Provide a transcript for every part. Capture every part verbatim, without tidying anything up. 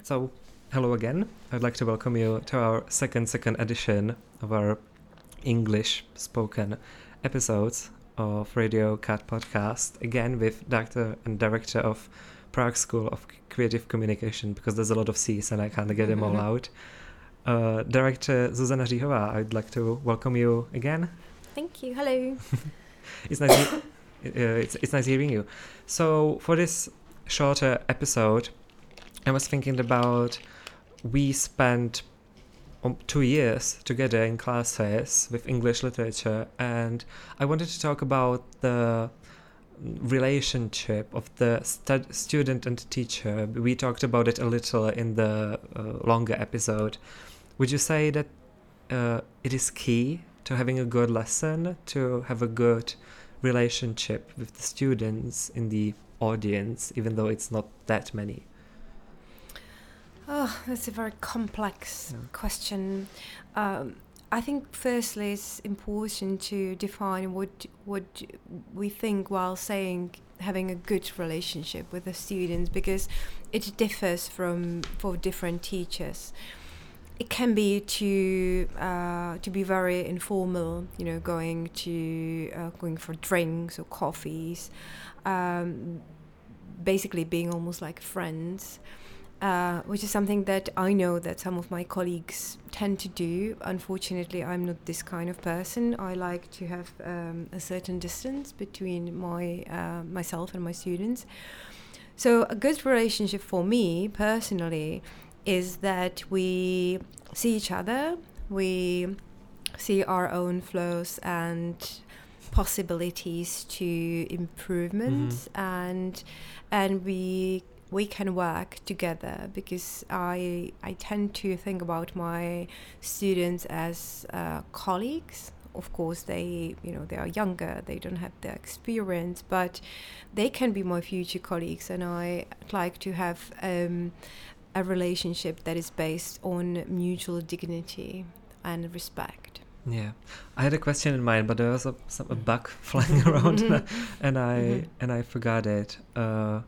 So, hello again. I'd like to welcome you to our second second edition of our English spoken episodes of Radio Cat Podcast, again with Doctor and Director of Prague School of Creative Communication, because there's a lot of C's and I can't get them all out. Uh, Director Zuzana Říhová, I'd like to welcome you again. Thank you. Hello. It's nice. he- uh, it's it's nice hearing you. So for this shorter episode, I was thinking about we spent um, two years together in classes with English literature, and I wanted to talk about the relationship of the stud- student and teacher. We talked about it a little in the uh, longer episode. Would you say that uh, it is key to having a good lesson, to have a good relationship with the students in the audience, even though it's not that many? Oh, that's a very complex Yeah. question. Um, I think firstly it's important to define what what we think while saying having a good relationship with the students, because it differs from for different teachers. It can be to uh, to be very informal, you know, going to uh, going for drinks or coffees, um, basically being almost like friends. Uh, which is something that I know that some of my colleagues tend to do. Unfortunately, I'm not this kind of person. I like to have um, a certain distance between my uh, myself and my students. So a good relationship for me personally is that we see each other, we see our own flaws and possibilities to improvement, Mhm. and and we we can work together, because I I tend to think about my students as uh, colleagues. Of course, they you know they are younger, they don't have the experience, but they can be my future colleagues, and I'd like to have um, a relationship that is based on mutual dignity and respect. Yeah, I had a question in mind, but there was a, some, a bug flying around, and I Mhm. and I forgot it. Uh,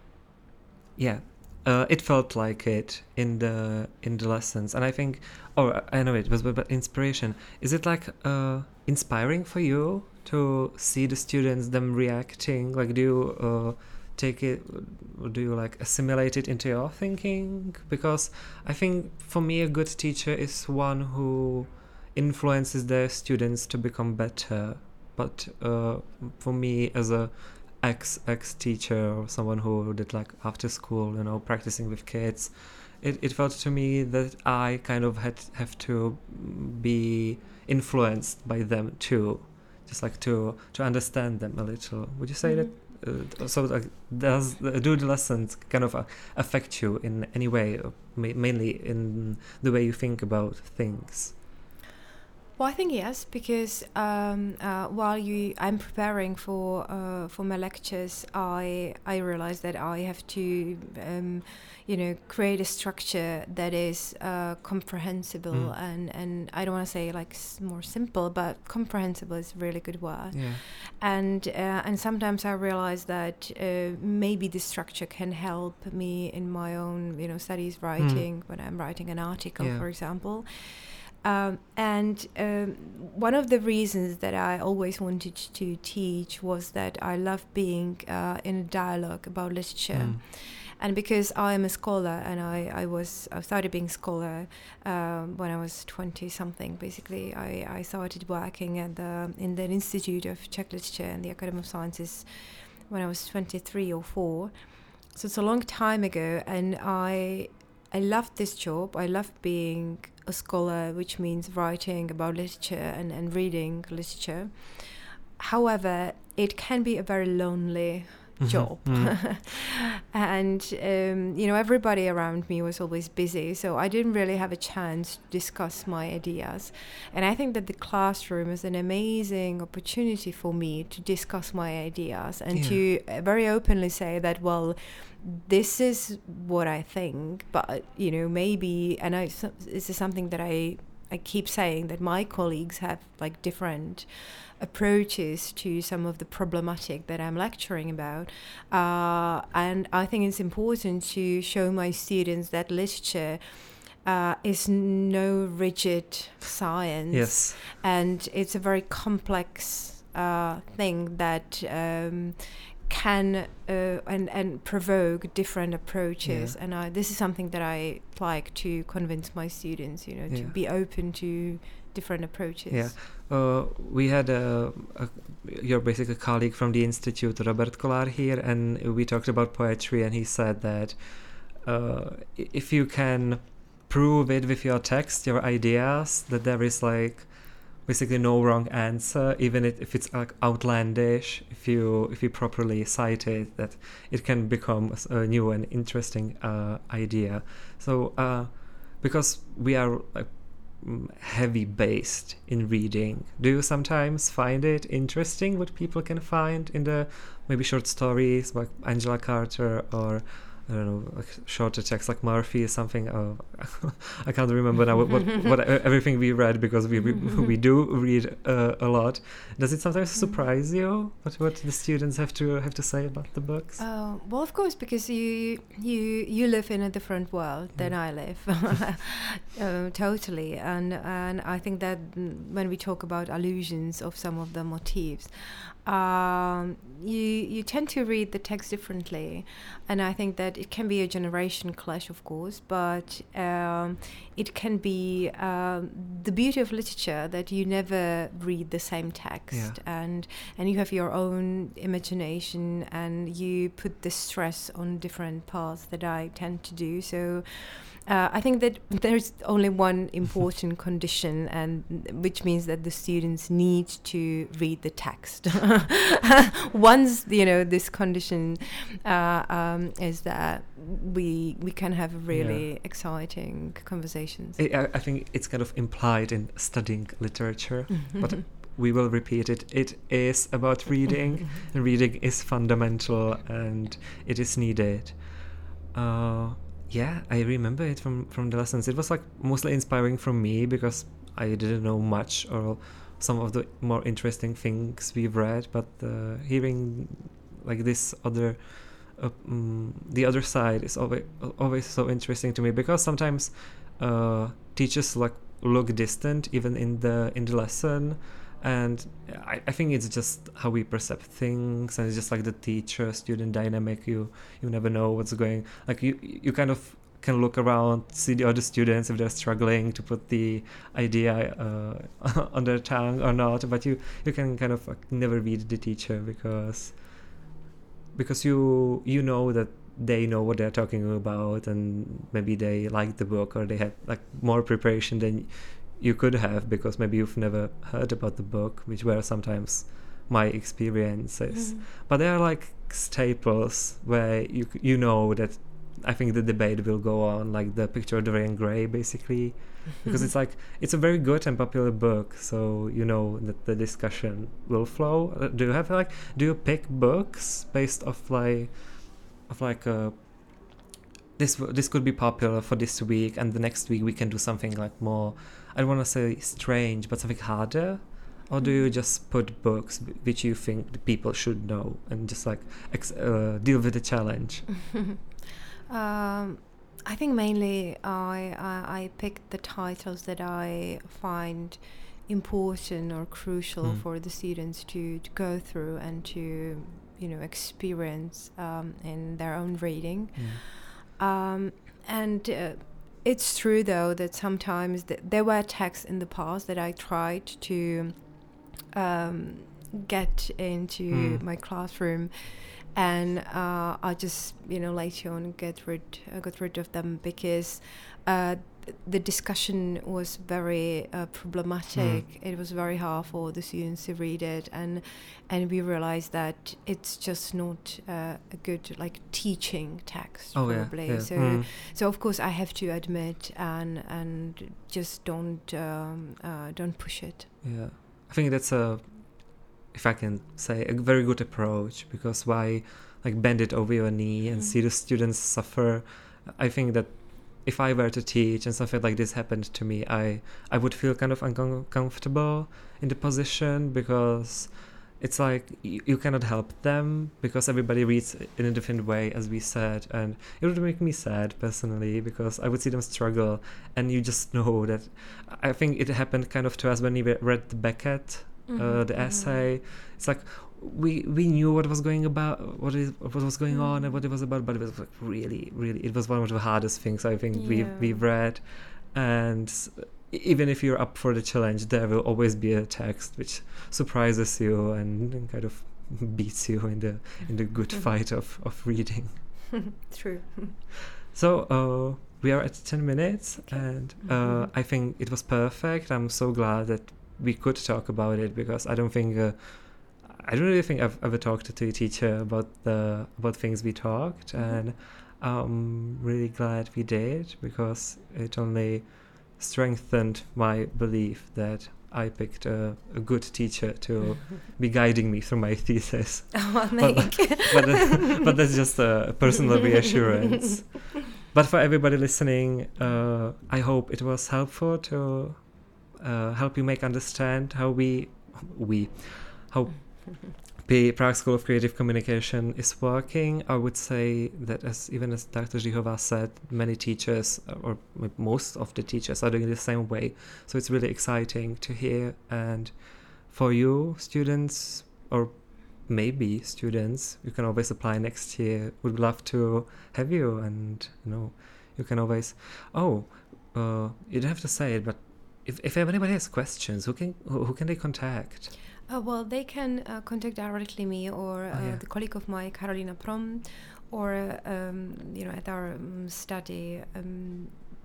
yeah, uh, it felt like it in the in the lessons, and I think, or I know it was, but, but inspiration. Is it like uh, inspiring for you to see the students, them reacting? Like, do you uh, take it? Do you like assimilate it into your thinking? Because I think for me, a good teacher is one who influences their students to become better. But uh, for me, as a ex ex teacher or someone who did like after school, you know, practicing with kids, it, it felt to me that I kind of had have to be influenced by them too, just like to to understand them a little. Would you say Mhm. that? Uh, so like, does do the lessons kind of uh, affect you in any way, or ma- mainly in the way you think about things? Well, I think yes, because um, uh, while you, I'm preparing for uh, for my lectures, I I realize that I have to, um, you know, create a structure that is uh, comprehensible, Mm. and, and I don't want to say like s- more simple, but comprehensible is a really good word. Yeah. And uh, and sometimes I realize that uh, maybe the structure can help me in my own, you know, studies writing, when I'm writing an article, Yeah. for example. Um, and um, one of the reasons that I always wanted to teach was that I love being uh, in a dialogue about literature. Mm. And because I am a scholar, and I, I was I started being a scholar um, when I was twenty something. Basically, I, I started working at the in the Institute of Czech Literature and the Academy of Sciences when I was twenty-three or four. So it's a long time ago, and I I loved this job. I loved being a scholar, which means writing about literature and, and reading literature. However, it can be a very lonely job. Mhm. And, um, you know, everybody around me was always busy, so I didn't really have a chance to discuss my ideas. And I think that the classroom is an amazing opportunity for me to discuss my ideas and Yeah. to uh, very openly say that, well, this is what I think, but, you know, maybe, and I, this is something that I I keep saying that my colleagues have like different approaches to some of the problematic that I'm lecturing about. Uh, and I think it's important to show my students that literature uh, is no rigid science. Yes. And it's a very complex uh, thing that um, can uh, and and provoke different approaches. Yeah. And I, this is something that I like to convince my students, you know, to Yeah. be open to different approaches. Yeah. Uh, we had a, a your basically colleague from the institute, Robert Kolar, here, and we talked about poetry, and he said that uh, if you can prove it with your text, your ideas, that there is like basically no wrong answer, even if it's like outlandish. If you if you properly cite it, that it can become a new and interesting uh, idea. So uh, because we are like heavy based in reading, do you sometimes find it interesting what people can find in the maybe short stories like Angela Carter, or I don't know, like shorter texts like Murphy or something? Oh, I can't remember now what, what, what everything we read, because we we, we do read uh, a lot. Does it sometimes surprise you what what the students have to have to say about the books? Uh, well, of course, because you you you live in a different world than Mm. I live, uh, totally. And and I think that when we talk about allusions of some of the motifs, um, you you tend to read the text differently, and I think that it can be a generation clash, of course, but um, it can be um, the beauty of literature that you never read the same text, Yeah. and and you have your own imagination, and you put the stress on different paths that I tend to do. So uh, I think that there's only one important condition, and which means that the students need to read the text. Once you know this condition uh, um, is that we we can have really Yeah. exciting conversations. I, I- I think it's kind of implied in studying literature, but we will repeat it. It is about reading, and reading is fundamental, and it is needed. Uh, yeah, I remember it from, from the lessons. It was like mostly inspiring for me because I didn't know much or some of the more interesting things we've read, but uh, hearing like this other, uh, mm, the other side is always always so interesting to me, because sometimes uh, teachers like look distant even in the in the lesson, and I, I think it's just how we perceive things, and it's just like the teacher student dynamic. You you never know what's going, like you you kind of can look around, see the other students if they're struggling to put the idea uh, on their tongue or not, but you you can kind of like never read the teacher, because because you you know that they know what they're talking about, and maybe they like the book, or they have like more preparation than you could have, because maybe you've never heard about the book, which were sometimes my experiences. Mhm. But they are like staples where you you know that I think the debate will go on, like the Picture of Dorian Gray, basically, because it's like it's a very good and popular book, so you know that the discussion will flow. Uh, do you have like do you pick books based off like of like a this w- this could be popular for this week, and the next week we can do something like more, I don't want to say strange, but something harder? Or do you just put books w- which you think the people should know, and just like ex- uh, deal with the challenge? Um, I think mainly I, I I pick the titles that I find important or crucial Mm. for the students to, to go through and to you know experience um, in their own reading. Yeah. Um, and uh, it's true though that sometimes th- there were texts in the past that I tried to um, get into Mm. my classroom, and uh, I just you know later on get rid uh, got rid of them because uh, th- the discussion was very uh, problematic. Mm. It was very hard for the students to read it, and and we realized that it's just not uh, a good like teaching text Oh yeah, probably. yeah. So Mm. so of course I have to admit and and just don't um, uh, don't push it. Yeah, I think that's a, if I can say, a very good approach, because why like bend it over your knee and Mm. see the students suffer? I think that if I were to teach and something like this happened to me, I I would feel kind of uncomfortable in the position, because it's like you, you cannot help them because everybody reads in a different way, as we said, and it would make me sad personally because I would see them struggle, and you just know that. I think it happened kind of to us when we read the Beckett, mm-hmm, uh, the mm-hmm. essay. It's like we we knew what was going about, what is what was going mm-hmm. on, and what it was about, but it was like really, really, it was one of the hardest things I think yeah. we we've read, and. Even if you're up for the challenge, there will always be a text which surprises you and, and kind of beats you in the in the good fight of, of reading. True. So uh, we are at ten minutes, okay. and uh, mm-hmm. I think it was perfect. I'm so glad that we could talk about it, because I don't think uh, I don't really think I've ever talked to a teacher about the about things we talked, mm-hmm. and I'm really glad we did, because it only strengthened my belief that I picked a, a good teacher to be guiding me through my thesis. Oh, but, but, but, but that's just a personal reassurance. But for everybody listening, uh, I hope it was helpful to uh, help you make understand how we, we, how the Prague School of Creative Communication is working. I would say that, as even as Doctor Žíhová said, many teachers, or most of the teachers, are doing it the same way. So it's really exciting to hear. And for you, students, or maybe students, you can always apply next year. Would love to have you, and you know, you can always. Oh, uh, you don't have to say it, but if if anybody has questions, who can who, who can they contact? Uh, well, they can uh, contact directly me or uh, oh, yeah. the colleague of mine, Karolina Prom, or um, you know, at our um, study um,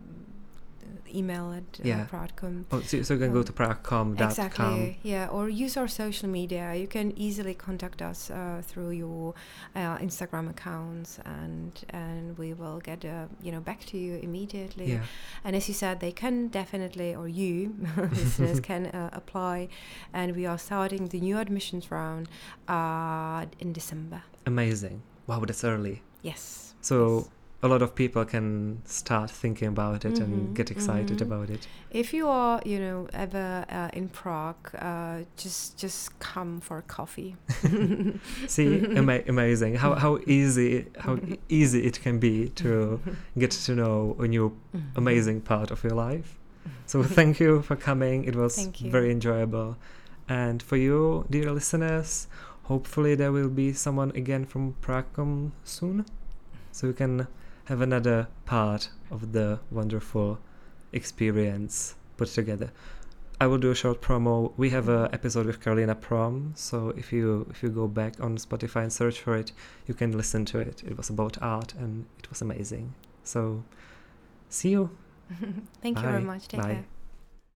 email at uh, yeah. Prague.com. Oh, so, so you can um, go to Prague dot com. Exactly, yeah, or use our social media. You can easily contact us uh, through your uh, Instagram accounts, and and we will get uh, you know back to you immediately. Yeah. And as you said, they can definitely, or you listeners can uh, apply, and we are starting the new admissions round uh, in December. Amazing! Wow, that's early. Yes. So. Yes. A lot of people can start thinking about it mm-hmm, and get excited mm-hmm. about it. If you are, you know, ever uh, in Prague, uh, just just come for coffee. See, ama- amazing how how easy how easy it can be to get to know a new amazing part of your life. So thank you for coming. It was very enjoyable. And for you, dear listeners, hopefully there will be someone again from Prague soon, so we can have another part of the wonderful experience put together. I will do a short promo. We have an episode with Karolina Prom, so if you if you go back on Spotify and search for it, you can listen to it. It was about art and it was amazing. So see you. Thank Bye. you very much. Take Bye. care.